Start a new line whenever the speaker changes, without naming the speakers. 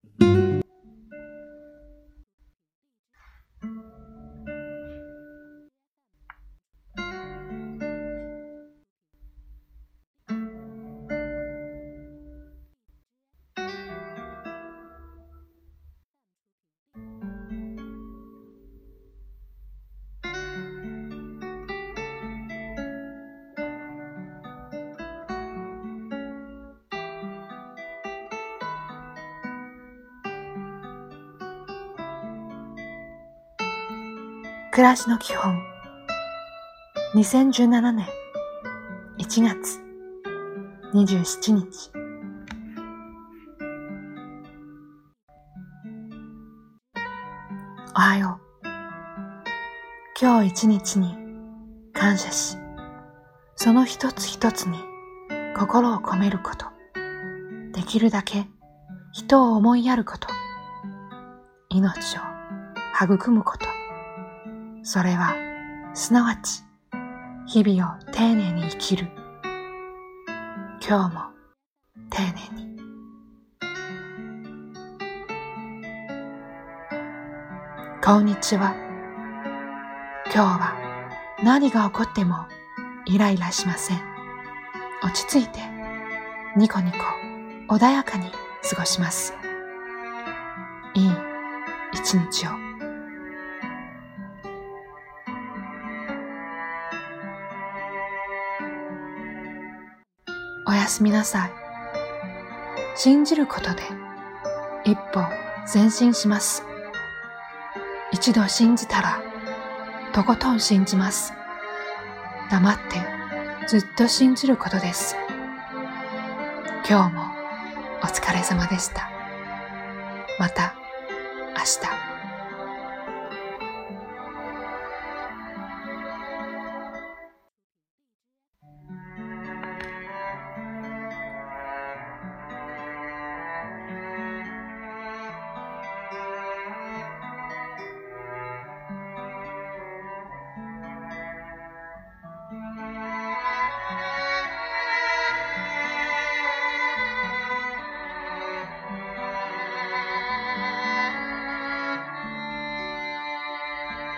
暮らしの基本2017年1月27日おはよう。今日一日に感謝し、その一つ一つに心を込めること、できるだけ人を思いやること、命を育むこと、それはすなわち日々を丁寧に生きる。今日も丁寧に。こんにちは。今日は何が起こってもイライラしません。落ち着いてニコニコ穏やかに過ごします。いい一日を。おやすみなさい。信じることで一歩前進します。一度信じたらとことん信じます。黙ってずっと信じることです。今日もお疲れ様でした。また明日。